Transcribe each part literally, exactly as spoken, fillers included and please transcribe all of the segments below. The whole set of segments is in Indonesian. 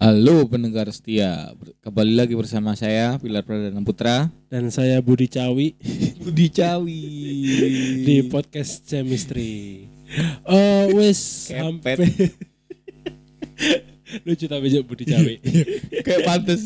Halo pendengar setia, kembali lagi bersama saya Pilar Pradana Putra dan saya Budi Cawi Budi Cawi di podcast Chemistry. Oh wes Kepet. sampai lucu tapi jauh Budi Cawi. kayak pantes.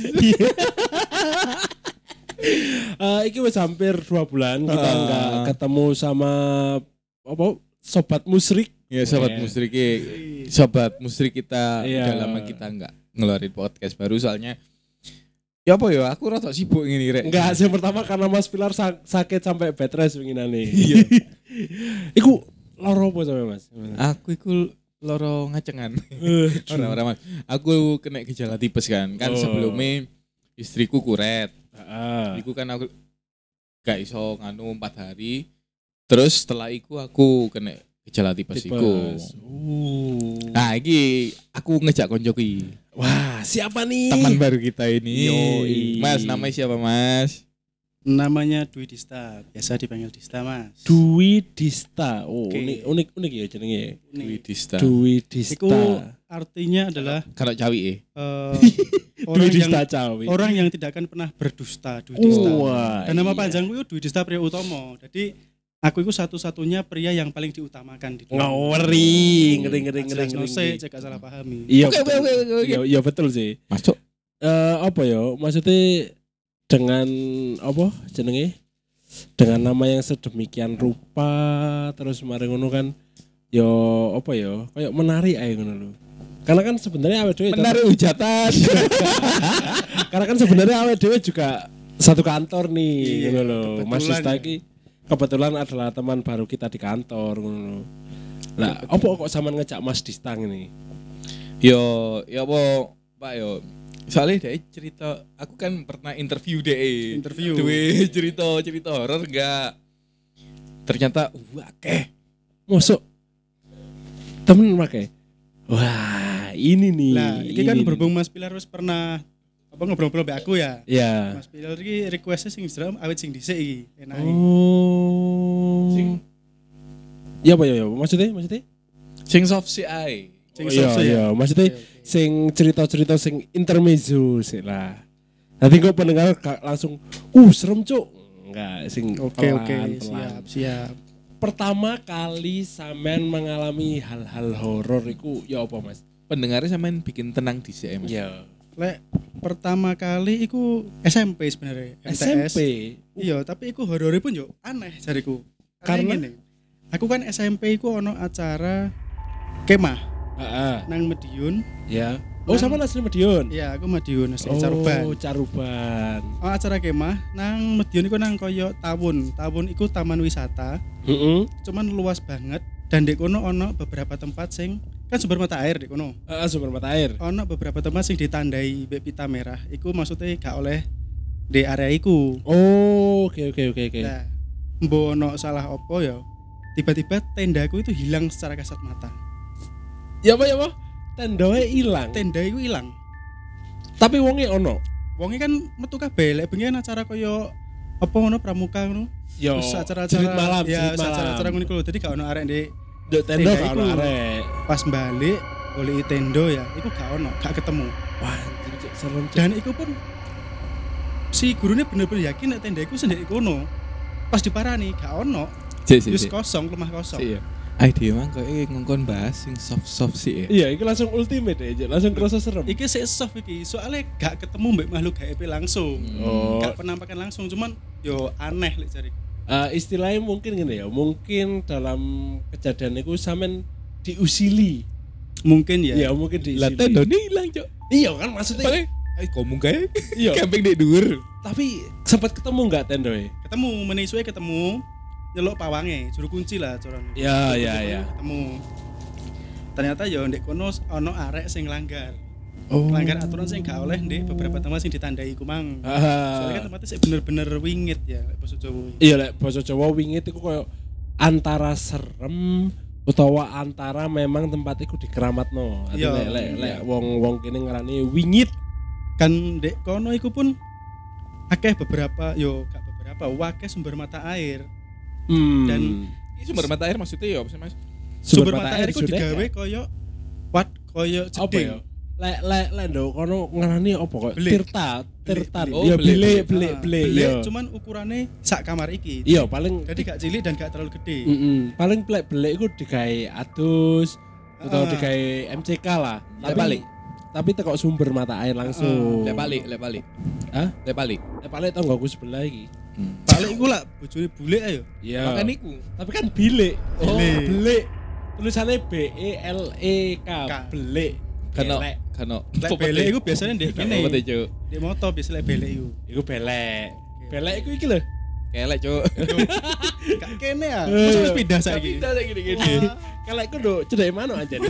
uh, Iki wes hampir dua bulan kita Ah. nggak ketemu sama apa sobat musrik. Ya sobat Yeah. musrik, sobat musrik kita Iya. udah lama kita nggak ngeluarin podcast baru soalnya. Ya apa ya, aku rada sibuk ngene rek. Enggak, yang pertama karena Mas Pilar sak- sakit sampai bed rest winginane. Iya. Iku loro apa sampe Mas? Aku iku loro ngacengan. Ora-ora Mas. Aku kena gejala tipes kan. Kan Oh. sebelumnya istriku kuret. Heeh. Iku kan aku gak iso nganu empat hari. Terus setelah iku aku kena gejala tipes iku. Uh. Nah, iki aku ngejak konco ki. Wah, siapa nih? Teman baru kita ini. Yoi. Mas, namanya siapa, Mas? Namanya Dwi Dista, biasa dipanggil Dista, Mas. Dwi Dista. Oh, Oke. unik unik unik ya jenenge. Dwi Dista. Dwi Dista. Iku artinya adalah Kalau cawi eh. eh, Dwi orang yang Dista Cawi. orang yang tidak akan pernah berdusta, Dwi Dista. Wah, Dan nama iya. panjangku itu Dwi Dista Priya Utomo. Jadi aku itu satu-satunya pria yang paling diutamakan di dunia. Ngaweri, ngeri ngeri ngeri Jelas no ngeri. se, cek gak salah pahami. Iya. Oke, betul. oke, oke, oke. Iya, iya betul sih. Masuk. Eh apa ya? Maksudnya dengan apa jenenge? Dengan nama yang sedemikian rupa terus mari ngono kan yo apa ya? Kayak menarik ae ngono lho. Karena kan sebenarnya awake dhewe Menarik hujatan. Karena kan sebenarnya awake dhewe juga satu kantor nih Iya, ngono lho. Mas kebetulan Dista ya. iki kebetulan adalah teman baru kita di kantor ngono lho. Lah, opo kok sampean ngejak Mas Dista ini? Yo, ya apa, Pak yo. Soalnya dia cerita, aku kan pernah interview deh. Interview. Duwe cerita-cerita horor enggak. Ternyata wah keh. Mosok temen make. Wah, ini nih. Nah, ini kan nih. berhubung Mas Pilar wis pernah apa ngobrol-ngobrol mbek aku ya. Ya. Mas Pilar iki request sing Instagram awet sing dhisik iki, enake. Oh. Sing- Ya apa ya, ya maksudnya maksudnya? Sing soft si ai. Sing Oh, iya, soft iya, ya. maksudnya Oke, oke. sing cerita-cerita sing intermezzo sih lah. Nanti kok pendengar gak langsung, uh serem cuk. Enggak, sing Oke pelan, oke, pelan. siap siap. Pertama kali sampean mengalami hal-hal horor iku ya apa Mas? Pendengarnya sampean bikin tenang di sini, Mas. Ya. Lek pertama kali iku S M P sebenarnya. S M P. Iya, tapi iku horore pun yo aneh jariku. Karena? Karena gini, aku kan S M P iku ono acara kemah Heeh. nang Medion. Ya. Oh, Nang- sama asli Medion. Iya, aku Medion asli Oh, Caruban. Caruban. Oh, acara kemah nang Medion iku nang koyo Tawun. Tawun iku taman wisata, Heeh. cuman luas banget dan di kono ono beberapa tempat sing kan sumber mata air di kono. Heeh, sumber mata air. Ono beberapa tempat sing ditandai mbek pita merah. Iku maksudnya gak oleh di area iku. Oh, oke oke oke oke. Nah, mbok ono salah opo ya. Tiba-tiba tendaku itu hilang secara kasat mata. Ya apa ya apa? Tendoe ilang. Tenda itu hilang. Tapi wonge ono. Wonge kan metu kabeh lek bengi kan acara koyo apa ngono pramuka ngono. Yo. Terus acara-acara jerit malam, ya jerit malam. acara-acara ngono iku lho. Dadi gak ono arek ndek Dek tendo tenda gak ono iku. arek. pas balik golek tendo ya, iku gak ono, gak ketemu. Wah, anjir, Cuk, serem Cuk. Dan iku pun si gurunya bener-bener yakin nek tenda iku sendiri kono. Pas diparani gak ono. Sik, sik, Wis sik. kosong, lemah kosong. Sik ya. Ai dia mah kok ngongkon bahas sing soft-soft sih ya. Iya, itu langsung ultimate aja, langsung kerasa serem. Iki sik soft iki, soalnya gak ketemu mbek makhluk gaib langsung. Oh. Gak penampakan langsung, cuman yo aneh lek jariku. Eh, istilahnya mungkin gini ya, mungkin dalam kejadian itu sampean diusili. Mungkin ya. Iya, mungkin diusili. Lah tendone ilang, Cok. Iya kan maksudnya. Paling ai ngomong kae. Iya. Camping di dhuwur. Tapi sempat ketemu enggak tendoe? Ketemu meneh suwe ketemu nyeluk pawange, juru kunci lah corone. Ya, Juru ya, kunci ya. Ketemu. Ternyata ya ndek kono ono arek sing langgar. Oh. Langgar aturan sing gak oleh ndek beberapa tempat sing ditandai iku mang. Soalnya kan Ah. tempatnya sih bener-bener wingit ya lek basa Jawa. Iya lek basa Jawa wingit iku koyo antara serem utawa antara memang tempat iku dikeramatno. Ati Iya, lek lek iya. lek wong-wong kene ngarani wingit. Kan ndek kono iku pun akeh beberapa yo gak beberapa wakeh sumber mata air. Hmm. Dan Ini sumber mata air maksudnya ya apa sih, Mas? Sumber, mata, air iku sudah digawe ya? koyo wat koyo apa ya? jeding. lek lek lek nduk kono ngarani apa kok? Belik. Tirta, tirtan. belik. Iya Oh, belik, belik, Ah, belik, belik. belik Iya. cuman ukurannya sak kamar iki. Iya, paling Jadi gak cilik dan gak terlalu gede. mm paling plek belik iku digawe adus atau Ah. digawe M C K lah. Lek Tapi balik. tapi tekok sumber mata air langsung. Lek balik, lek balik. Hah? Lek balik. Lek balik tonggoku sebelah iki. Balik iku lah bojone bule ayo. Iya. Makan iku. Tapi kan bilik. Oh. Belik. Belik. Tulisannya B E L E K. K. Belik. Kano, Belek. kano. Lek belek iku biasanya ndek kene. Apa tuh, Cuk? Di motor biasa lek belek iku. Iku belek. Belek iku iki lho. Kelek, Cuk. Gak kene ya. Eh. Masa wis pindah saiki. Pindah saiki gini-gini. Kalau iku nduk cedek mana anjen.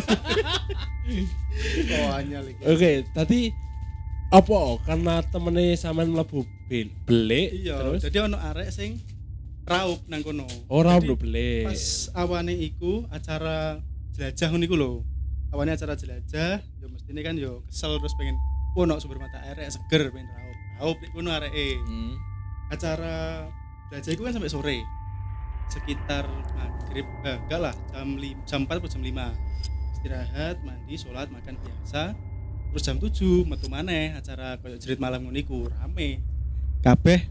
Oh anyar iki. Oke, tadi apa karena temene sampean mlebu bel- belik Iya, terus jadi ono arek sing raup nang kono. ora Jadi, nduk belik. Pas awane iku acara jelajah ngono iku lho. Awane acara jelajah, yo mestine kan yo kesel terus pengen ono sumber mata air rek seger pengen raup. Raup nek kono areke. Hmm. Acara jelajah iku kan sampai sore. Sekitar maghrib, eh, enggak lah, jam lima, jam empat atau jam lima. Istirahat, mandi, sholat, makan biasa. Terus jam tujuh metu maneh acara koyo jerit malam ngono iku rame. Kabeh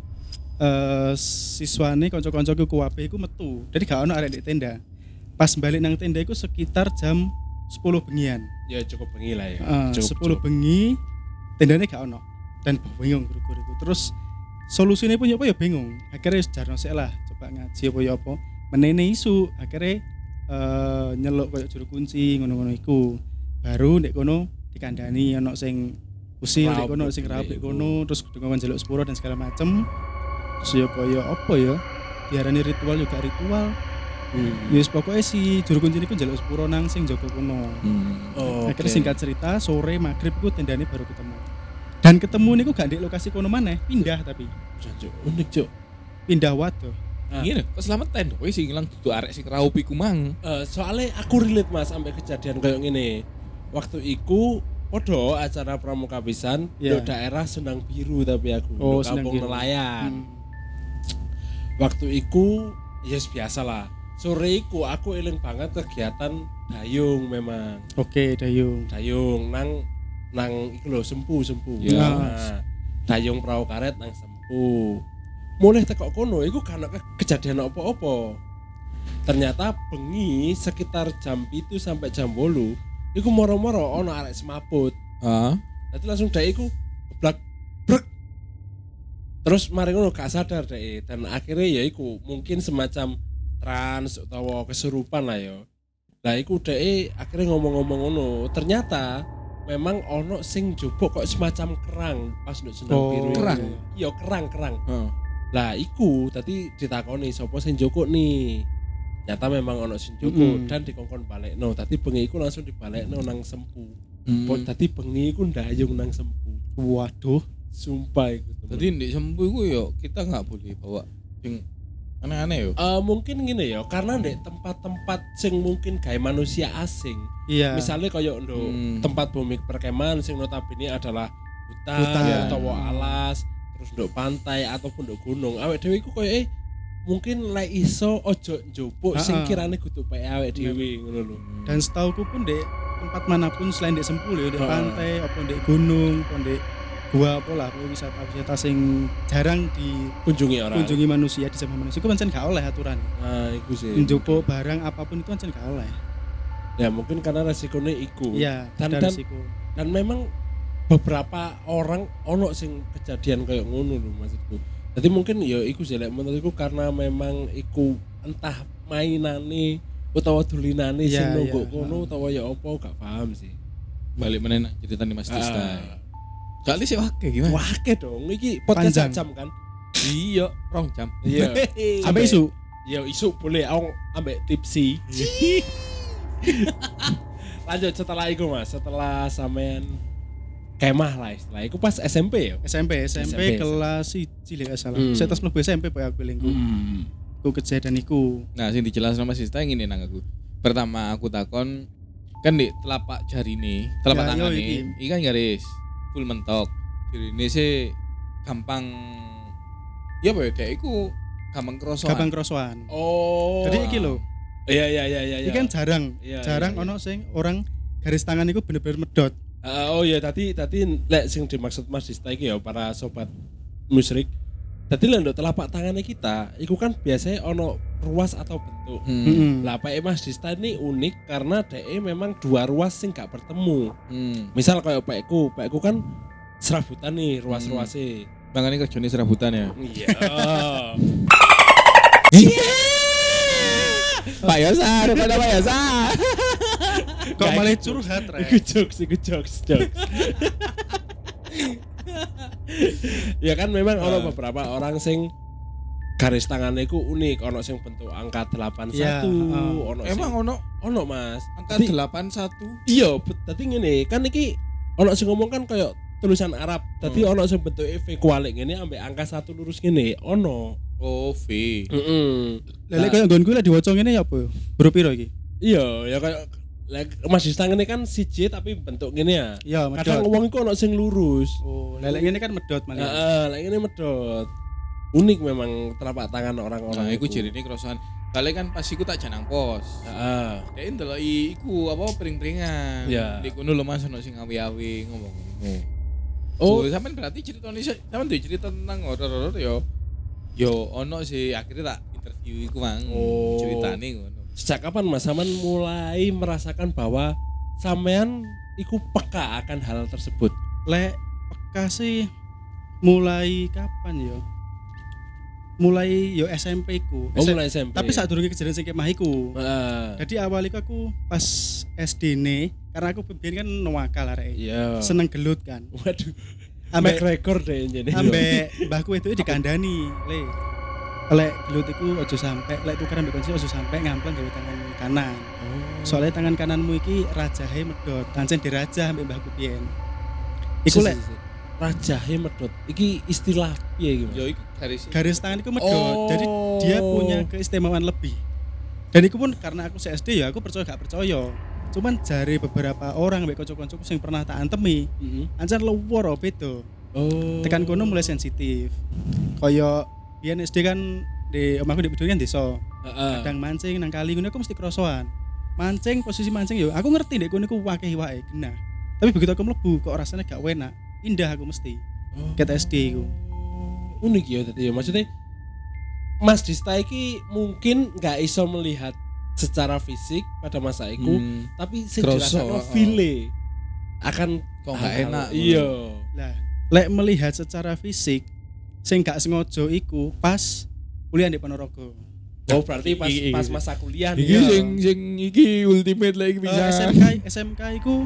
eh siswane kanca-kancaku kuwabe iku metu. Jadi gak ono arek di tenda. Pas balik nang tenda iku sekitar jam sepuluh bengian. Ya cukup bengi lah ya. Uh, Cukup, sepuluh cukup. bengi tendane gak ono. Dan bingung guru-guru iku. Terus solusine pun ya apa ya bingung. Akhirnya wis jarno sik lah, coba ngaji apa ya apa. Menene isu akhirnya eh nyeluk koyo juru kunci ngono-ngono iku. Baru nek kono dikandani ono sing usil nek Raup kono nduk sing rapi belik kono terus dengan njaluk sepuro dan segala macem. Terus ya koyo apa ya? Diarani ritual juga ritual. Hmm. Ya wis pokoke si juru kunci niku njaluk sepuro nang sing jaga kono. Hmm. Oh, Akhirnya oke. singkat cerita sore maghrib ku tendane baru ketemu. Dan ketemu niku gak di lokasi kono maneh, pindah tapi Cuk, unik cuk. pindah waduh. Ah. Ngene, keselamatan kowe sing ilang dudu arek sing raup iku mang. Eh, soalnya aku relate mas sampai kejadian kayak gini. Waktu iku podo acara pramuka pisan Iya. di daerah Sendang Biru tapi aku Oh, di Sendang kampung Biru. nelayan. Hmm. Waktu iku yes biasa lah. Sore iku aku eling banget kegiatan dayung memang. Oke, Dayung. Dayung nang nang iku lho sempu sempu. Iya. Nah, dayung perahu karet nang sempu. Mulai tekok kono iku kan ke- kejadian apa-apa. Ternyata bengi sekitar jam itu sampai jam bolu iku moro-moro ono arek semaput. Heeh. Nanti langsung dhek iku geblak brek. Terus mari ngono gak sadar dhek dan akhirnya ya iku mungkin semacam trans atau kesurupan lah ya. Lah iku dhek akhirnya ngomong-ngomong ngono. Ternyata memang ono sing jupuk kok semacam kerang pas nduk Sendang Oh, Biru. kerang? Iya, kerang, kerang. Heeh. Lah iku tadi ditakoni sapa sing jukuk nih. Nyata memang ono sing jukuk Mm-mm. dan dikongkon balekno. Tadi bengi iku langsung dibalekno nang sempu. Hmm. Pok tadi bengi iku ndayung nang sempu. Waduh. Sumpah iku. temen. Jadi di sempu iku yo kita nggak boleh bawa sing aneh-aneh yo. Eh, mungkin gini ya, karena ndek tempat-tempat sing mungkin gawe manusia asing. Iya. Misalnya kayak nduk Hmm. tempat bumi perkemahan sing notabene adalah hutan, Hutan. utawa alas, terus nduk pantai ataupun nduk gunung. Awake dhewe iku koyo eh mungkin lek iso ojo njupuk sing Ha-ha. kirane kudu pake awake dhewe ngono lho. Dan setauku pun di tempat manapun selain di Sempul ya, di Ah. pantai, apa di gunung, apa di gua apa lah, pokoknya wisata-wisata sing jarang Kunjungi orang. dikunjungi manusia di zaman manusia. Itu pancen gak oleh aturan. Nah, iku sih. Njupuk barang apapun itu pancen gak oleh. Ya mungkin karena resikonya iku. Iya, Dan- ada dan- risiko. Dan memang beberapa orang ono sing kejadian kayak ngono lho maksudku. Jadi mungkin ya iku sih lek menurutku karena memang iku entah mainane utawa dolinane sing Iya, nunggu iya. kono utawa ya apa gak paham sih. Balik meneh nak cerita nih Mas Tista. Ah. Kali sih wake gimana? Wah, ke dong iki podcast Panjang. sak jam kan. Iya, rong jam. Iya. Sampai isu. Ya isu boleh aku ambek tipsi. Lanjut setelah itu Mas, setelah sampean kemah lah istilah. Iku pas S M P ya. S M P, S M P S M P, kelas siji lek gak salah. Hmm. Saya tas mlebu S M P pokoke aku lingku. Hmm. Ku kejadian iku. Nah, sing dijelasno Mas Tista ngene nang aku. Pertama aku takon kan di telapak jari nih, telapak Ya, tangan yo, nih, iki. iki kan garis full mentok. Jadi ini sih gampang ya apa ya, kayak iku gampang kerosokan. Gampang krosoan. Oh. Jadi iki lho, Iya iya iya iya. iki kan jarang, Iya, jarang iya, iya. ono sing orang garis tangan iku bener-bener medot. Uh, oh ya tadi tadi lek sing dimaksud Mas Dista iki ya para sobat musyrik. Tadi lek nduk telapak tangannya kita, iku kan biasanya ono ruas atau bentuk. Hmm. Heeh. Lah pake Mas Dista ini unik karena dhek memang dua ruas sing gak bertemu. Hmm. Misal kayak pakku, pakku kan serabutan nih ruas-ruasnya. Makanya kerjanya serabutan ya. Iya. Pak Yosa, rupanya Pak Yosa. Kok Gak malah iku. curhat, Rek? Iku jokes, iku jokes, jokes. Ya kan memang Ah. ono beberapa orang sing garis tangannya iku unik, ono sing bentuk angka delapan Ya, satu, uh. ono sing Emang ono ono Mas. angka Tapi- delapan satu. Iya, bet- dadi ngene, kan iki ono sing ngomong kan kayak tulisan Arab. Dadi Hmm. ono sing bentuke V kualik ngene ambek angka satu lurus ngene, ono. Oh, V. Heeh. Lek koyo nggonku lek diwaca ngene ya apa? Huruf piro iki? Iya, ya kayak lek Mas Dista ngene kan siji tapi bentuk ngene ya. Iya, Kadang medhot. wong iku ono sing lurus. Oh, lek ngene kan medhot malah. Heeh, lek ngene medhot. Unik memang telapak tangan orang-orang. Nah, iku jirine krosoan. Kali kan pas iku tak janang pos. Heeh. Dek ndeloki iku apa pring-pringan. Iya. Di kono lho Mas ono sing awi-awi ngomong ngono. Oh. Oh, sampean berarti ceritane sampean duwe cerita tentang horor-horor ya. Yo ono sih akhirnya tak interview iku mang. Oh. Ceritane ngono. Sejak kapan Mas Saman mulai merasakan bahwa sampean iku peka akan hal tersebut? Lek peka sih mulai kapan ya? Mulai yo S M P ku. Oh, S M mulai S M P. Tapi saat durunge kejadian sing kemah iku. Heeh. Jadi awal iku aku pas S D ne, karena aku biyen kan nuwakal arek. Iya. Seneng gelut kan. Waduh. Ambek Make record deh jadi. ambek mbahku itu dikandani, Le. Lek gelut iku aja sampe, lek tukeran mbek kunci aja sampe ngampleng gawe tangan kanan. Oh. Soalnya tangan kananmu iki rajahe medhot, pancen dirajah ambek mbahku biyen. Iku lek rajahe medhot. Iki istilah piye iki? Mas? Yo iku garis. garis tangan itu medhot. Oh. Jadi dia punya keistimewaan lebih. Dan itu pun karena aku S D ya aku percaya gak percaya. Cuman jari beberapa orang mbek kanca-kancaku sing pernah tak antemi, Heeh. ancen luwur beda. Oh. Tekan kono mulai sensitif. Kaya biyen S D kan di omahku di Bedul kan desa. Heeh. Kadang mancing nang kali ngono aku mesti krosoan. Mancing posisi mancing yo aku ngerti ndek kono iku wakeh wae genah. Tapi begitu aku mlebu kok rasanya gak enak. Pindah aku mesti. Ket S D iku. Unik ya tadi ya maksudnya Mas Dista iki mungkin nggak iso melihat secara fisik pada masa itu, Hmm. tapi sing Kroso, dirasakno oh. feel akan Kok nggak hal-hal- enak, Iya. Lah, lek melihat secara fisik sing gak sengaja iku pas kuliah di Ponorogo. Oh berarti pas Iki- iki- pas iki. masa kuliah Iki nih. sing sing iki ultimate lagi Eh, bisa. S M K S M K iku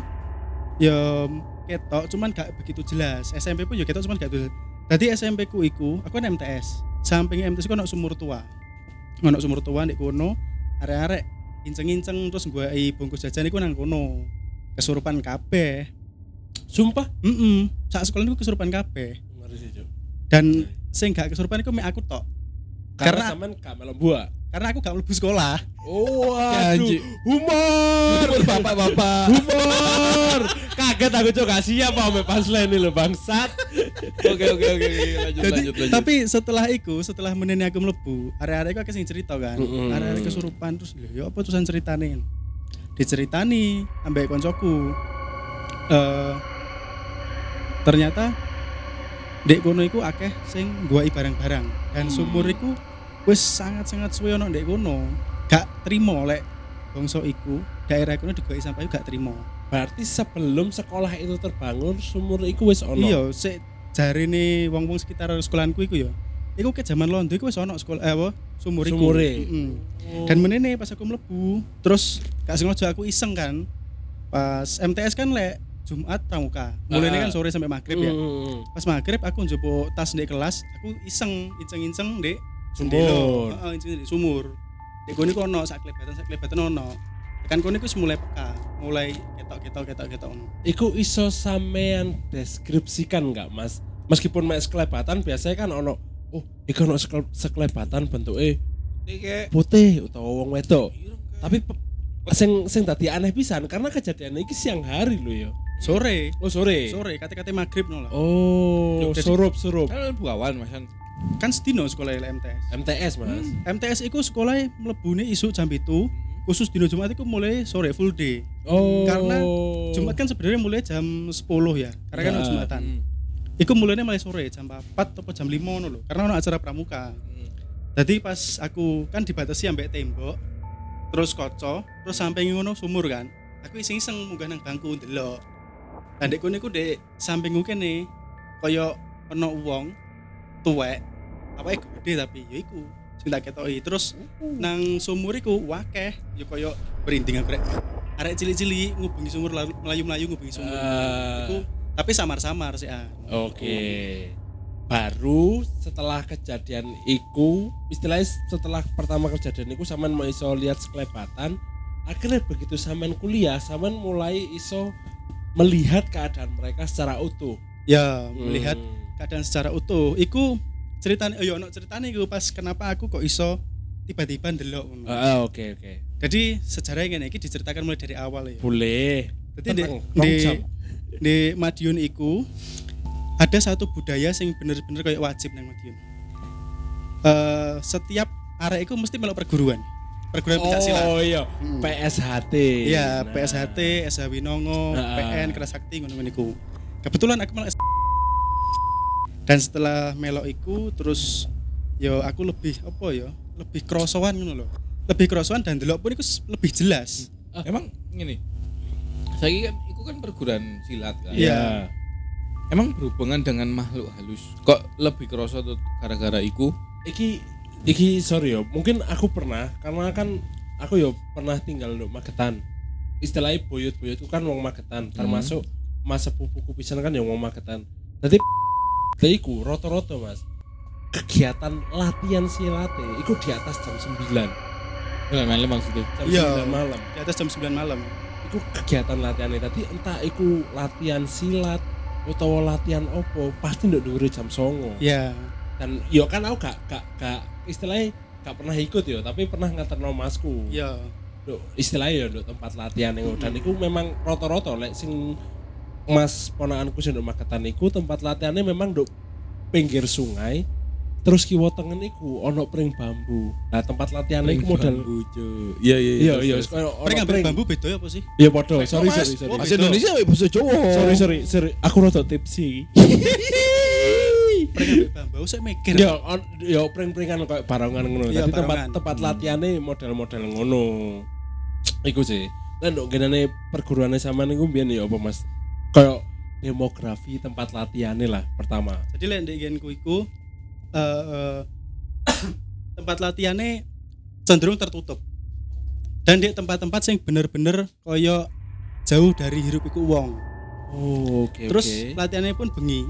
ya ketok cuman gak begitu jelas. S M P pun ya ketok cuman gak begitu. Dadi S M P ku iku aku kan M T S. Samping M T S ku ono sumur tua. Ono sumur tua ndek kono, arek-arek inceng-inceng terus gue bungkus jajan iku nang kono. Kesurupan kabeh. Sumpah. Heeh. Sak sekolah niku kesurupan kabeh. Ngeri sih, Cuk. Dan sing gak kesurupan iku mek aku tok. Karena Karena- sampean gak melok buah. Karena aku gak mlebu sekolah. Oh, Janji. humor. Bapak-bapak. Humor. Kaget aku Cuk, gak siap apa pas ini lho bangsat. Oke oke oke oke, lanjut Jadi, lanjut lanjut. tapi setelah itu, setelah menene aku mlebu, arek-arek iku akeh sing cerita kan. Mm-mm. Arek-arek kesurupan terus lho, ya apa terusan ceritane? Diceritani ambek koncoku. Eh ternyata dek kono iku akeh sing guai barang-barang dan Hmm. sumur iku wis sangat-sangat suwe ono ndek kono. Gak trimo lek bangsa iku daerah kono digoki sampah iku gak trimo. Berarti sebelum sekolah itu terbangun sumur iku wis ono. Iya, sik jarine wong-wong sekitar sekolahanku iku ya. Iku ke zaman Londo iku wis ono sekolah eh apa sumur iku. Sumure. Mm-mm. Oh. Dan menene pas aku mlebu, terus gak sengaja aku iseng kan. Pas M T S kan lek Jumat pramuka. Mulainya kan sore sampai maghrib ya. Mm. Pas maghrib aku njupuk tas ndek kelas, aku iseng inceng-inceng ndek Sumur. jendela. Heeh, inceng ndek sumur. Ndek kono iku ono sak klebatan sak klebatan ono. Kan kono iku wis mulai peka, mulai ketok-ketok ketok-ketok ono. Iku iso sampean deskripsikan nggak Mas? Meskipun mek sekelebatan biasanya kan ono oh, iku ono sekele- sekelebatan bentuke Iki putih utawa wong wedok. ireng kayak- Tapi pe- sing sing dadi aneh pisan karena kejadian iki siang hari lho ya. Sore, Oh sore. sore kate-kate maghrib no lah. Oh, Jadi- surup-surup. kan lebih awan Mas kan. Kan sedino sekolah M T S. M T S Mas. M T S iku sekolah mlebune isuk jam itu, khusus dino Jumat iku mulai sore full day. Oh. Karena Jumat kan sebenarnya mulai jam sepuluh ya. Karena kan Ya. ono Jumatan. Hmm. Iku mulainya mulai sore jam empat atau jam lima ngono lho. Karena ono acara pramuka. Hmm. Jadi pas aku kan dibatasi ambek tembok, terus kaca, terus sampai ngono sumur kan. Aku iseng-iseng munggah nang bangku ndelok. Lah ndek kono iku ndek sampingku kene kaya ana wong tuwek. Awake gede tapi ya iku sing tak ketoki. Terus nang sumur iku wakeh ya kaya berinding aku rek. Arek cilik-cilik ngubengi sumur lalu- melayu-melayu ngubengi sumur. Ah. Iku tapi samar-samar sih ah. Oke. Baru setelah kejadian iku, istilahnya setelah pertama kejadian iku sampean mau iso lihat sekelebatan, akhirnya begitu sampean kuliah, sampean mulai iso melihat keadaan mereka secara utuh. Ya, melihat Hmm. keadaan secara utuh. Iku ceritane oh ya ono ceritane iku pas kenapa aku kok iso tiba-tiba ndelok ngono. Ah, oke oke. Jadi sejarahnya ngene iki diceritakan mulai dari awal ya. Boleh. Jadi di, Tenang, di, rong jam. di Madiun iku ada satu budaya sing bener-bener kayak wajib nang Madiun. Eh setiap arek iku mesti melok perguruan. Perguruan pencak silat. Oh iya, Hmm. P S H T. Iya, Nah. P S H T, S H Winongo, Nah. P N, Kerasakti ngono-ngono iku. Kebetulan aku melok S- dan setelah melok iku terus yo aku lebih apa ya? Lebih krosoan ngono lho. Lebih krosoan dan delok pun iku s- lebih jelas. Emang gini. Saya kan iku kan perguruan silat kan. Iya. Emang berhubungan dengan makhluk halus. Kok lebih kerasa tuh gara-gara iku? Iki iki sorry yo, mungkin aku pernah karena kan aku yo pernah tinggal di Magetan. Istilahnya buyut-buyutku kan wong Magetan, termasuk mas sepupuku pisan kan yang wong Magetan. Jadi iku roto-roto Mas. Kegiatan latihan silate iku di atas jam sembilan. Bukan malam maksudnya. Jam Iya. sembilan malam. Di atas jam sembilan malam. Iku kegiatan latihannya tadi entah iku latihan silat utawa latihan opo pasti nduk dhuwure jam songo. Iya. Dan yo kan aku gak gak gak istilahnya gak pernah ikut yo tapi pernah nganterno masku. Iya. Nduk istilahnya yo nduk tempat latihan iku dan iku memang rata-rata lek sing Mas ponakanku sing nduk Magetan iku tempat latihannya memang nduk pinggir sungai terus kiwa tengen iku ono pring bambu. Nah tempat latihannya iku model Iya iya iya iya koyo ono Mereka ngambil pring bambu beda ya apa sih? iya podo sorry Mas. sorry sorry Oh, Bahasa Indonesia ya bahasa Jawa. sorry sorry sorry aku rada tipsy. Mereka ngambil bambu saya mikir. Ya, on- ya pring-pringan kayak barongan ngono. Iya, Tapi tempat barongan. tempat latihannya model-model ngono. Iku sih. Lah nduk genane perguruane sampean iku mbiyen ya apa Mas? Kayak demografi tempat latihannya lah pertama. Jadi lek ndek genku iku eh eh, tempat latihannya cenderung tertutup. Dan di tempat-tempat yang bener-bener koyo jauh dari hirup iku wong. Oh, oke Terus oke. latihannya pun bengi.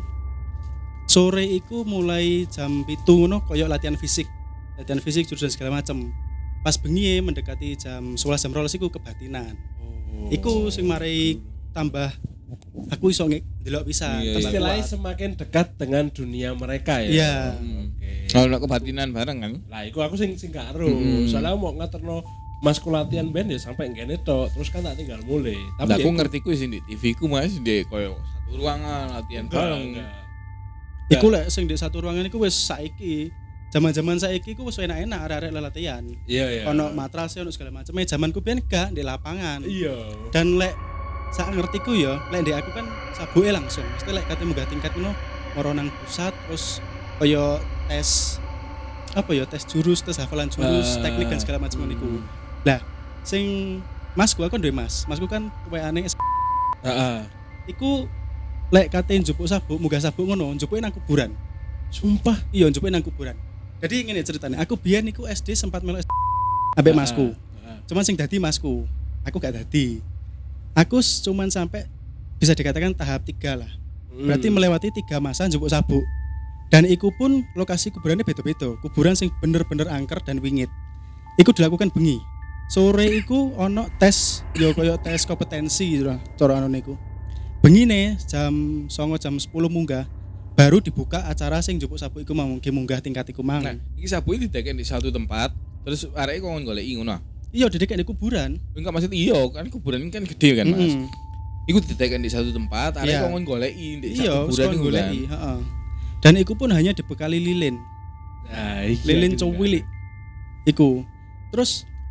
Sore iku mulai jam pitu ngono koyo latihan fisik. Latihan fisik jurusan segala macam. Pas bengi mendekati jam sebelas jam dua belas iku kebatinan. Oh. Iku sing mari tambah aku iso nge- ndelok pisan. Iya, tambah istilahnya kuat. semakin dekat dengan dunia mereka ya. Iya. Hmm, Oke. Kalau nak kebatinan bareng kan. Lah iku aku sing sing gak ero. Mm. Soalnya aku mau ngaterno masku latihan band ya sampai ngene tok. Terus kan tak tinggal mulai. Tapi ya aku iku- ngerti ku sih di T V ku Mas di koyo satu ruangan latihan Enggak, bareng. enggak. Iku lek sing di satu ruangan iku wis saiki. Zaman-zaman saiki ku wis enak-enak arek-arek latihan. Iya iya. Ono matras ono segala macam. Eh zamanku biyen gak di lapangan. Iya. Dan lek sak ngertiku ya, lek ndek aku kan sabuke langsung. Mesti lek kate munggah tingkat ngono moro nang pusat terus kaya tes apa ya tes jurus, tes hafalan jurus, Ah. teknik dan segala macam niku. Lah, sing masku aku duwe Mas. Masku kan W-ane Heeh. iku lek kate njupuk sabuk, munggah sabuk ngono, njupuke nang kuburan. Sumpah. Iya, njupuke nang kuburan. Jadi ngene ceritanya, aku biyen niku S D sempat melu S D ambek masku. Heeh. Cuman sing dadi masku, aku gak dadi. Aku s- cuman sampai bisa dikatakan tahap tiga lah. Berarti Hmm. melewati tiga masa njupuk sabuk. Dan iku pun lokasi kuburannya beda-beda. Kuburan sing bener-bener angker dan wingit. Iku dilakukan bengi. Sore iku ono tes, yo koyo tes kompetensi gitu lah, cara anu niku. Bengine jam songo jam sepuluh munggah baru dibuka acara sing njupuk sabuk iku mau mungkin munggah tingkat iku mang. Nah, iki sabu iki dideken di satu tempat, terus areke kok goleki ngono. Iya didek di kuburan. Enggak maksud iya kan kuburan ini kan gede kan Mas. Mm-mm. Iku dideken di satu tempat, areke Iya. kok goleki di Iya, satu kuburan sekon iku kan. goleki, heeh. Dan iku pun hanya dibekali lilin. Nah, iya Lilin gitu kan. cowilik. Iku. Terus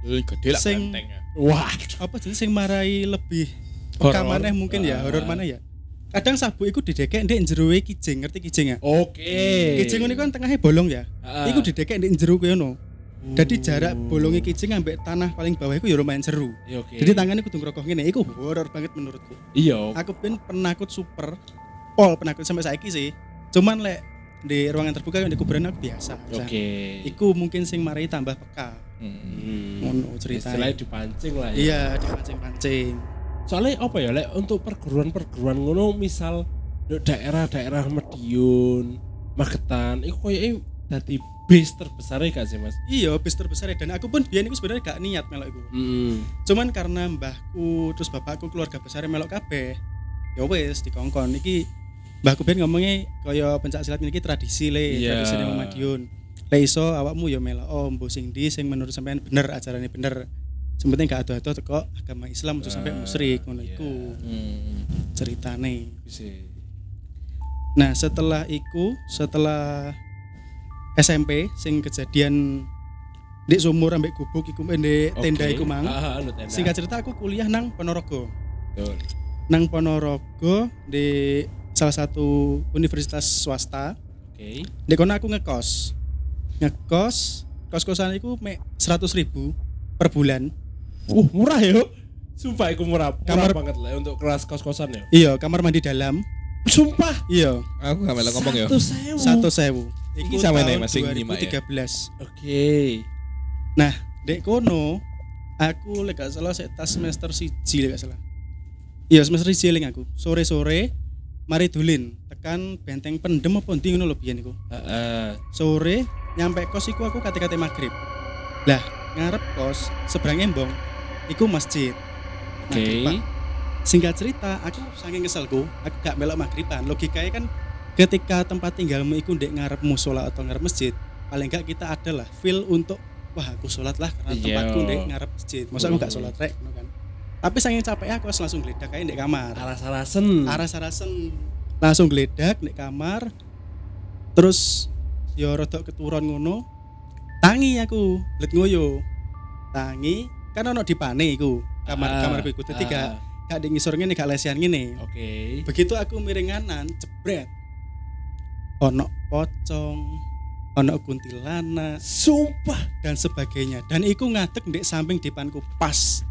Lho gede lah Sing- banteng ya. Wah, Apa jenis sing marai lebih Horor. peka maneh mungkin ya, Ah. horor mana ya. Kadang sabuk iku didekek ndek njero kijing, ngerti kijing ya? oke. Kijing ngono kan tengahnya bolong ya. Ah. Iku didekek ndek njero kono. Jadi jarak bolongnya kijing ambek tanah paling bawah iku ya lumayan seru. Iya, oke. Jadi tangannya kudu ngerokoh ngene, iku horor banget menurutku. iya. Aku pun penakut super, pol penakut sampai saiki sih. Cuman lek di ruangan terbuka yang di kuburan aku biasa. Oke. Iku mungkin sing marai tambah peka. Hmm. Hmm. Ngono ceritanya. Istilahnya dipancing lah ya. Iya, dipancing-pancing. Soalnya apa ya, lek untuk perguruan-perguruan ngono misal di daerah-daerah Madiun, Magetan, itu kayaknya dadi base terbesar gak sih mas? Iya, bis terbesar ya. Dan aku pun biyen iku sebenarnya gak niat melok iku. Hmm. Cuman karena mbahku terus bapakku keluarga besar melok kabeh. Ya wis dikongkon iki mbahku ben ngomongnya kaya pencak silat iki tradisi le, Iya. tradisi nang Madiun. Lek iso awakmu ya melok oh mbo sing ndi sing menurut sampean bener ajarane bener. Sing penting gak ado-ado teko agama Islam aja sampai musyrik ngono Iya. iku Hmm. ceritane. Bisa. Nah, setelah iku, setelah S M P sing kejadian di sumur ambek gubuk iku ndek tenda Oke. iku mang. Ah, anu tenda. Singkat cerita aku kuliah nang Ponorogo. Betul. Nang Ponorogo di salah satu universitas swasta. Oke. Di kono aku ngekos. Ngekos, kos-kosan iku mek seratus ribu per bulan. Uh, murah ya. Sumpah iku murah. Murah Kamar- banget lah untuk kelas kos-kosan ya. Iya, kamar mandi dalam. Sumpah. Iya, Aku gak melok ngomong ya. Satu sewu. satu sewu. Iki sama nih, Mas, sing nyimak ya? dua ribu tiga belas. Oke. Nah, dek kono aku lek gak salah sek tas semester siji lek gak salah. Iya, semester siji eling aku. Sore-sore mari dulin tekan benteng pendem apa ndi ngono lho biyen iku. Heeh. Sore nyampe kos iku aku kate-kate maghrib. Lah, ngarep kos seberang embong iku masjid. Oke. Maghrib, Pak. Singkat cerita, aku saking keselku, aku gak melok maghriban. Logikanya kan ketika tempat tinggalmu iku ndek ngarep musola atau ngarep masjid, paling enggak kita adalah feel untuk wah aku sholat lah karena Iya. tempatku ndek ngarep masjid. Masa aku gak sholat rek ngono kan. Tapi saking capek aku harus langsung geledak ae ndek kamar. Aras-arasen. Aras-arasen langsung geledak ndek kamar. Terus yo rodok keturun ngono. Tangi aku, blet ngoyo. Tangi kan ono dipane iku. Kamar Ah, kamarku iku dadi gak ah. gak di ngisor ngene gak lesian ngene. Oke. Begitu aku miring kanan, jebret. Ono pocong, ono kuntilanak Sumpah. dan sebagainya. Dan iku ngadeg ndek samping depanku pas.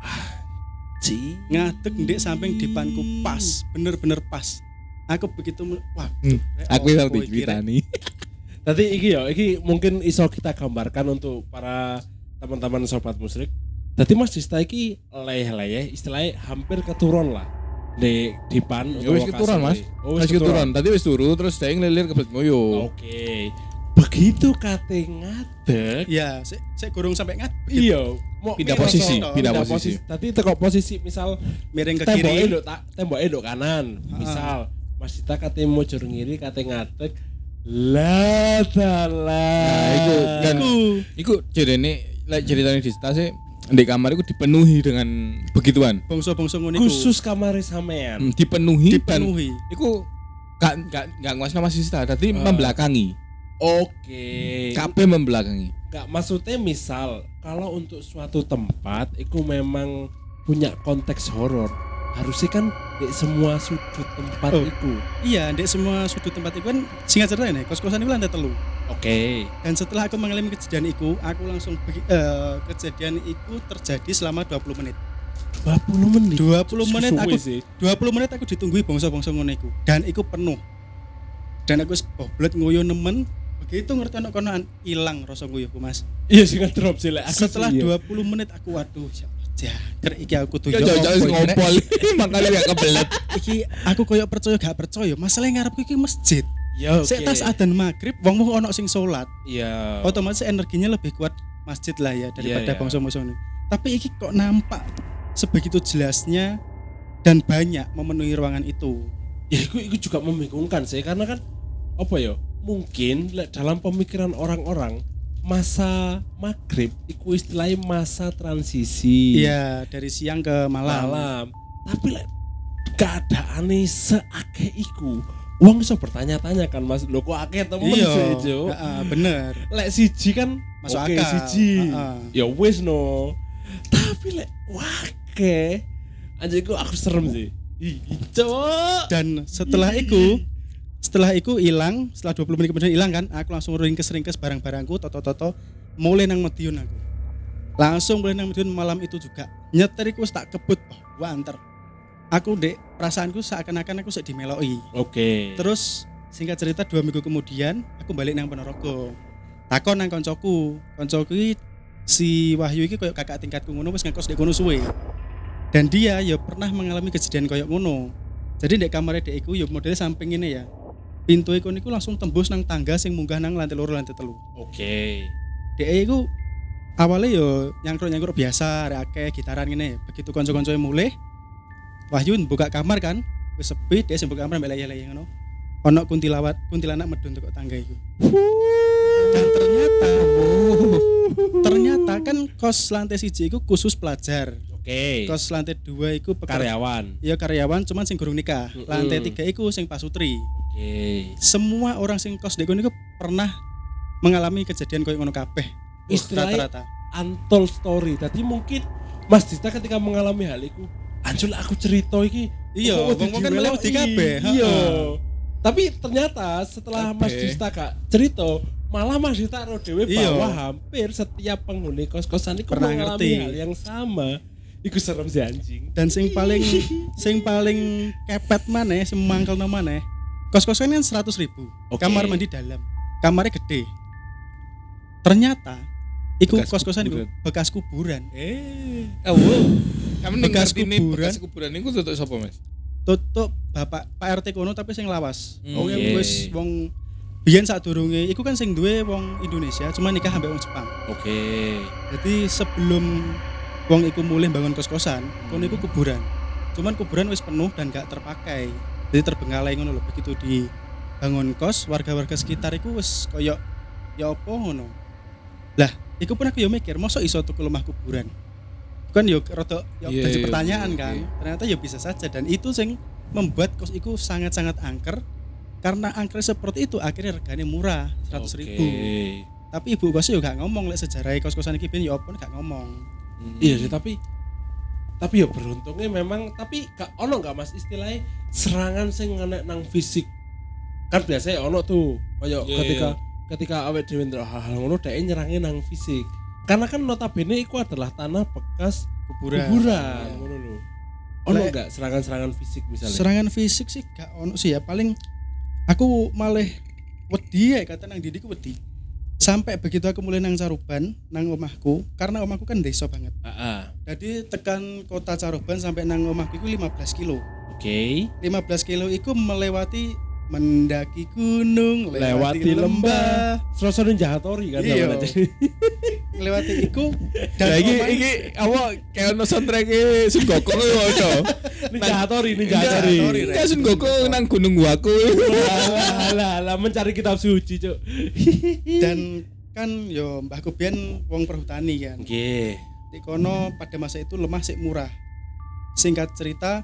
Ci. Ngadeg ndek samping depanku pas, bener-bener pas. Aku begitu mel- wah, Hmm, jebret, Aku opo yang iki, Rek? diceritani. Tadi iki ya, iki mungkin iso kita gambarkan untuk para teman-teman sobat musrik. Tadi Mas Dista iki leleh-leleh, istilahnya hampir keturun lah di dipan. Ya wis keturun, Mas. Oh, Wis wis keturun. keturun. Tadi wis turu terus dia ngelilir ke belet ngoyo. Oke. Begitu kate ngadeg, Ya, sik sik gurung sampai ngadeg. iya, mau Pindah miring posisi, to, pindah posisi. Tadi teko posisi misal Miring ke temboknya kiri. nduk tak temboknya nduk kanan. Misal Mas Dita kate mojor ngiri kate ngadeg. La dalah. Nah, iku kan Iku iku jarene lek ceritane di sih di kamar itu dipenuhi dengan begituan. bongso-bongso ngono iku. Khusus kamar sampean. Hmm, dipenuhi, dan dipenuhi. iku gak gak gak nguasno Mas Sista, dadi Ah. membelakangi. Oke. Kabeh membelakangi. Enggak, maksudnya misal kalau untuk suatu tempat itu memang punya konteks horor, harusnya kan di semua sudut tempat Oh. itu. Iya, ndek semua sudut tempat iku kan singkat cerita ini, kos-kosan iku lantai telu. Oke. Dan setelah aku mengalami kejadian itu, aku langsung begi- eh, kejadian itu terjadi selama dua puluh menit. dua puluh menit. dua puluh menit Suwe aku sih. dua puluh menit aku ditunggui bongso-bongso ngono iku dan iku penuh. Dan aku wis boblet nguyu nemen, begitu ngerti ana konoan ilang rasa nguyuhku, Mas. Iya sih drop sih lek aku Setelah sih, iya. dua puluh menit aku waduh, ya jager iki aku tuh Ya jauh-jauh ngompol. Makanya gak kebelet. Iki aku koyo percaya gak percaya, masalahnya ngarepku iki masjid. Ya oke. Sik tas adzan maghrib, wong-wong ono sing salat. Iya. Otomatis energinya lebih kuat masjid lah ya daripada Iya, iya. bongso-bongso ini. Tapi iki kok nampak sebegitu jelasnya dan banyak memenuhi ruangan itu. Ya itu, itu juga membingungkan sih karena kan apa ya? Mungkin lek dalam pemikiran orang-orang masa maghrib itu istilahnya masa transisi. Iya, dari siang ke malam. malam. Tapi lek keadaane seakeh iku Wong iso bertanya-tanya kan Mas, lho kok akeh temen Iya, sih, Cuk. heeh, bener. Lek siji kan Masuk oke, akal. siji. Heeh. Ya wis no. Tapi lek wake anjingku aku serem sih. Ih, Cuk. Dan setelah itu setelah itu hilang, setelah dua puluh menit kemudian hilang kan, aku langsung ringkes-ringkes barang-barangku, toto-toto, mulai nang Madiun aku. Langsung mulai nang Madiun malam itu juga. Nyetir iku wis tak kebut, oh, gua anter. Aku dek perasaanku seakan-akan aku sik dimeloki. Oke. Terus singkat cerita dua minggu kemudian aku balik nang Ponorogo. Takon nang koncoku. Koncoku iki si Wahyu iki koyo kakak tingkatku ngono wis ngekos di kono suwe. Dan dia ya pernah mengalami kejadian koyo ngono. Jadi ndek kamare dek iku ya modele samping ngene ya. Pintu iku niku langsung tembus nang tangga sing munggah nang lantai loro lantai telu. Oke. Dek iku awalnya yo nyangkruk-nyangkruk biasa, arek akeh gitaran ngene. Begitu kanca-kancoe mulai Wahyu buka kamar kan, wis sepi, dia sing buka kamar mbek leye-leye ngono. Ono kuntilawat, kuntilanak medun teko tangga iku. Dan ternyata ternyata kan kos lantai siji iku khusus pelajar. Oke. Kos lantai dua iku pekerja, Karyawan. ya karyawan cuman sing gurung nikah. Mm-mm. Lantai tiga iku sing pasutri. Oke. Semua orang sing kos di kono iku pernah mengalami kejadian koyo ngono kabeh. Istilahnya Rata-rata. untold story. Tadi mungkin Mas Dista ketika mengalami hal itu, anjul aku cerita iki. Iya, kok wong-wong kan dimeloi. melu di kabeh, Iya. heeh. Tapi ternyata setelah Kabeh. Mas Dista Kak cerita, malah Mas Dista ro dhewe Iya. bahwa hampir setiap penghuni kos-kosan itu Pernah mengalami ngerti. hal yang sama. Iku serem sih anjing. Dan sing paling sing paling kepet maneh, sing mangkelno maneh. Kos-kosan kan seratus ribu. Oke. Kamar mandi dalam. Kamarnya gede. Ternyata iku Bekas kos-kosan iku kuburan. bekas kuburan. Eh, oh, wow. Kamu Bekas bekas ini kuburan. bekas kuburan ini tutup sapa, Mas? Tutup Bapak Pak R T kono tapi sing lawas. Hmm. Wong Oke. wis wong biyen sadurunge iku kan sing duwe wong Indonesia, cuma nikah ambek wong Jepang. Oke. Jadi sebelum wong iku mulih bangun kos-kosan, kono iku kuburan. Cuman kuburan wis penuh dan gak terpakai. Jadi terbengkalai ngono lho. Begitu di bangun kos, warga-warga sekitar iku wis koyo ya apa ngono. Lah, iku pun aku yo mikir, mosok iso tuku lemah kuburan. Kan yo rada yo Iya, dadi iya, pertanyaan iya, kan. iya. Ternyata ya bisa saja dan itu sing membuat kos iku sangat-sangat angker. Karena angker seperti itu akhirnya regane murah seratus ribu. Oke. Tapi ibu kosnya juga gak ngomong lek sejarah kos-kosan iki ben ya apa gak ngomong. Iya sih, tapi tapi ya beruntungnya memang, tapi gak ono gak Mas istilahnya serangan sing ngenek nang fisik. Kan biasanya ono tuh kayak Iya, ketika iya. ketika awake dhewe ndelok hal-hal ngono dhek nyerangnya nang fisik. Karena kan notabene iku adalah tanah bekas Kuburan. kuburan ngono lho. Ono Lek- gak serangan-serangan fisik misalnya? Serangan fisik sih gak ono sih ya, paling aku malah wedi ya kata nang didiku wedi. Sampai begitu aku mulai nang Caruban, nang omahku, karena omahku kan desa banget. Heeh. Jadi tekan kota Caruban sampai nang omahku itu lima belas kilo. Oke. lima belas kilo itu melewati mendaki gunung, Lewati lembah. Suasana Jahatori kan Iya. namanya. Melewati iku Dan dan iki omah- iki apa kayak ono soundtrack-e Sun Gokong ngono. Ninja Hattori, Ninja Ninja Hattori. Hattori, Kayak Sun Gokong nang Gunung Waku. Lah, lah, lah, mencari kitab suci, Cuk. dan kan yo mbahku biyen wong perhutani kan. Nggih. Di kono pada masa itu lemah sik murah. Singkat cerita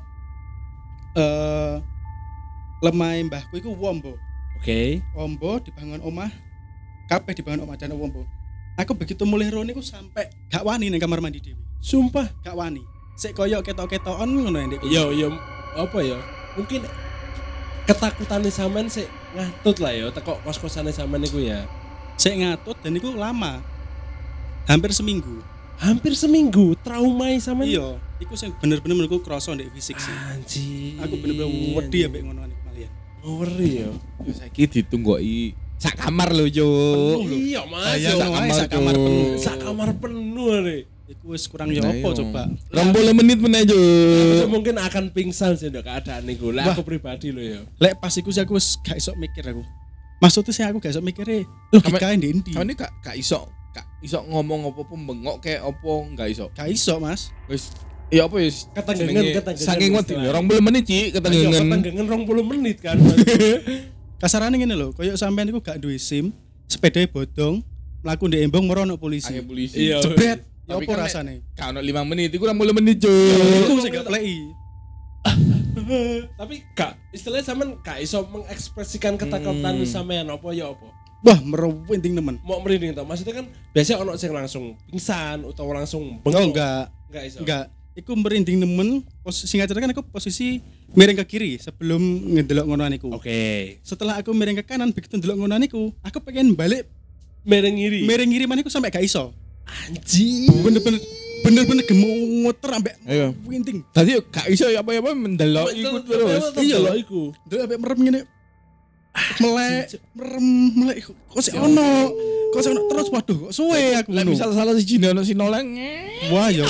eh lemah mbahku iku Wombo. Oke. Wombo dibangun omah, kabeh dibangun omah dan Wombo. Aku begitu mulai rono iku sampai gak wani ning kamar mandi dhewe. Sumpah. Gak wani. Sik koyo ketok-ketokan ngono ya Ndek. Yo yo apa ya? Mungkin ketakutane sampean sik ngatut lah ya teko kos-kosane sampean niku ya. Sik ngatut dan iku lama. Hampir seminggu. Hampir seminggu traumai sampean. Iya, iku sing bener-bener menurutku krasa ndek fisik sih. Anjir. Aku bener-bener wedi ambek ngono niku malian. Ngeri ya. Yo saiki ditunggoki sak kamar lho, yo. Iya, Mas. Bayang Sak wae, kamar sak kamar penuh. sak kamar penuh nih. Iku wis kurang ya Nah, apa iya. coba. rong puluh menit meneh, yo. Aku mungkin akan pingsan sih ndok keadaan niku. Lah Wah. aku pribadi lho ya. Lek pas iku sih aku wis gak iso mikir aku. Maksudnya sih aku gak iso mikir logika ndi ndi. Kamu ini gak gak iso gak iso ngomong apa-apa bengok kayak apa enggak iso. Gak iso, Mas. Wis ya apa ya Ketenggengen, jenenge, ketenggengen saking wedi istilahnya. rong puluh menit Ci Ayo ketenggengen. ketenggengen rong puluh menit kan. Kasarane ngene lho, koyo sampean iku gak duwe SIM, sepedanya bodong, mlaku ndek embong merono polisi. Ayo polisi. Iya. Jebret, ya Tapi apa kan nek- rasane? Gak ono lima menit, iku rong puluh menit, Jo. Iku sing gak pleki. Tapi gak istilahnya sampean gak iso mengekspresikan ketakutan Hmm. sampean apa ya apa. Wah, merinding temen. Mau merinding tau. Maksudnya kan biasanya ono sing langsung pingsan atau langsung Oh, bengok. enggak. Enggak iso. Enggak. Iku merinding nemen. Pos singkat cerita kan aku posisi miring ke kiri sebelum ngedelok ngono niku. Oke. Setelah aku miring ke kanan begitu ndelok ngono niku, aku pengen balik Mereng ngiri. miring ngiri maniku sampai gak iso. Anjing. Bener-bener bener-bener gemuter ambek Ayo. winting. Tadi yo gak iso apa-apa mendelok iku terus. Iya loh iku. Ndelok ambek merem ngene. Melek, merem, melek kok sik ono. Kok sik ono terus waduh kok suwe aku. Lah ngono. misal salah siji ono sing noleng. Wah ya.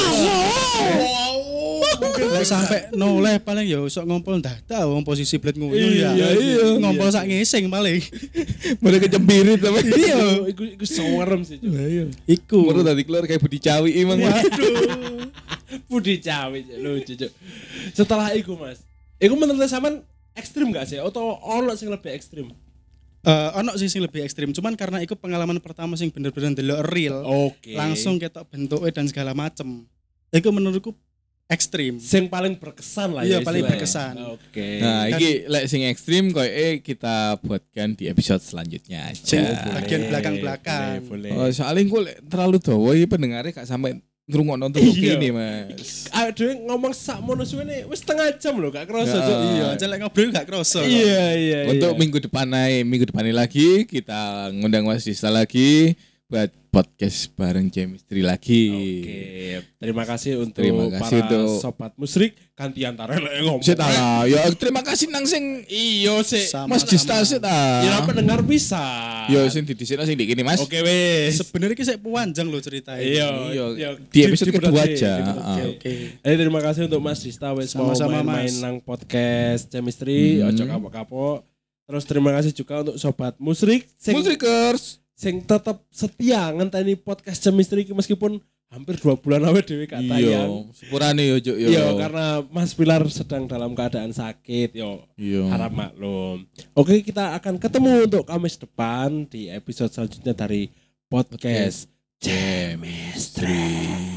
Mungkin Lek sampai noleh paling ya sok ngompol dada wong posisi bled ngono Iya, ya. iya. Ngompol sak ngising paling. Mulai kecempirit apa. iya, iku iku serem sih. Cuk. Iya. Iku. Baru tadi keluar kayak Budi Cawi emang. Waduh. Budi cawe lucu Cuk. Setelah iku Mas. Iku menurut sampean ekstrim gak sih atau ono sing lebih ekstrim? Eh ono sih sing lebih ekstrim, cuman karena itu pengalaman pertama sing bener-bener ndelok real. Oke. Langsung ketok bentuknya dan segala macem. Iku menurutku ekstrim. Sing paling berkesan lah Iya, ya. paling istilahnya. berkesan. Oke. Nah, Dan- iki lek sing ekstrim koyo eh kita buatkan di episode selanjutnya Sing aja. bagian belakang-belakang. Boleh. Oh, boleh. soalnya gue terlalu dawa iki pendengarnya gak sampai ngrungokno untuk Iya. ini, Mas. Aduh ngomong sak mono suwene wis setengah jam loh gak kerasa Ya. Cuk. Iya, aja lek ngobrol gak kroso. Iya iya. Untuk iya. minggu depan minggu depan lagi kita ngundang Mas Dista lagi buat podcast bareng Chemistry lagi. Oke, terima kasih untuk Terima kasih para untuk- sobat musrik ganti antara lek ngomong. Set lah, ya terima kasih nang sing Iyo sih. Sama. Mas Dista set Ya ah. pendengar bisa. Yo sing didhisikno sing ndek kene, Mas. Oke wes. Sebenarnya ki sik panjang loh ceritanya. Iya, Iya, iya. di episode Di- di- kedua di- aja. di- Ah. Oke, oke. Eh terima kasih untuk Mas Dista wes mau Sama-sama, main-main Mas. nang podcast Chemistry, Hmm. ojo kapok-kapok. Terus terima kasih juga untuk sobat musrik sing, Musrikers. sing tetap setia ngenteni podcast Chemistry iki meskipun hampir dua bulan awet dhewe gak Iya, tayang. sepurane yo Juk yo. Iya, karena Mas Pilar sedang dalam keadaan sakit, yo. Iya. Harap maklum. Oke, kita akan ketemu untuk Kamis depan di episode selanjutnya dari podcast Chemistry.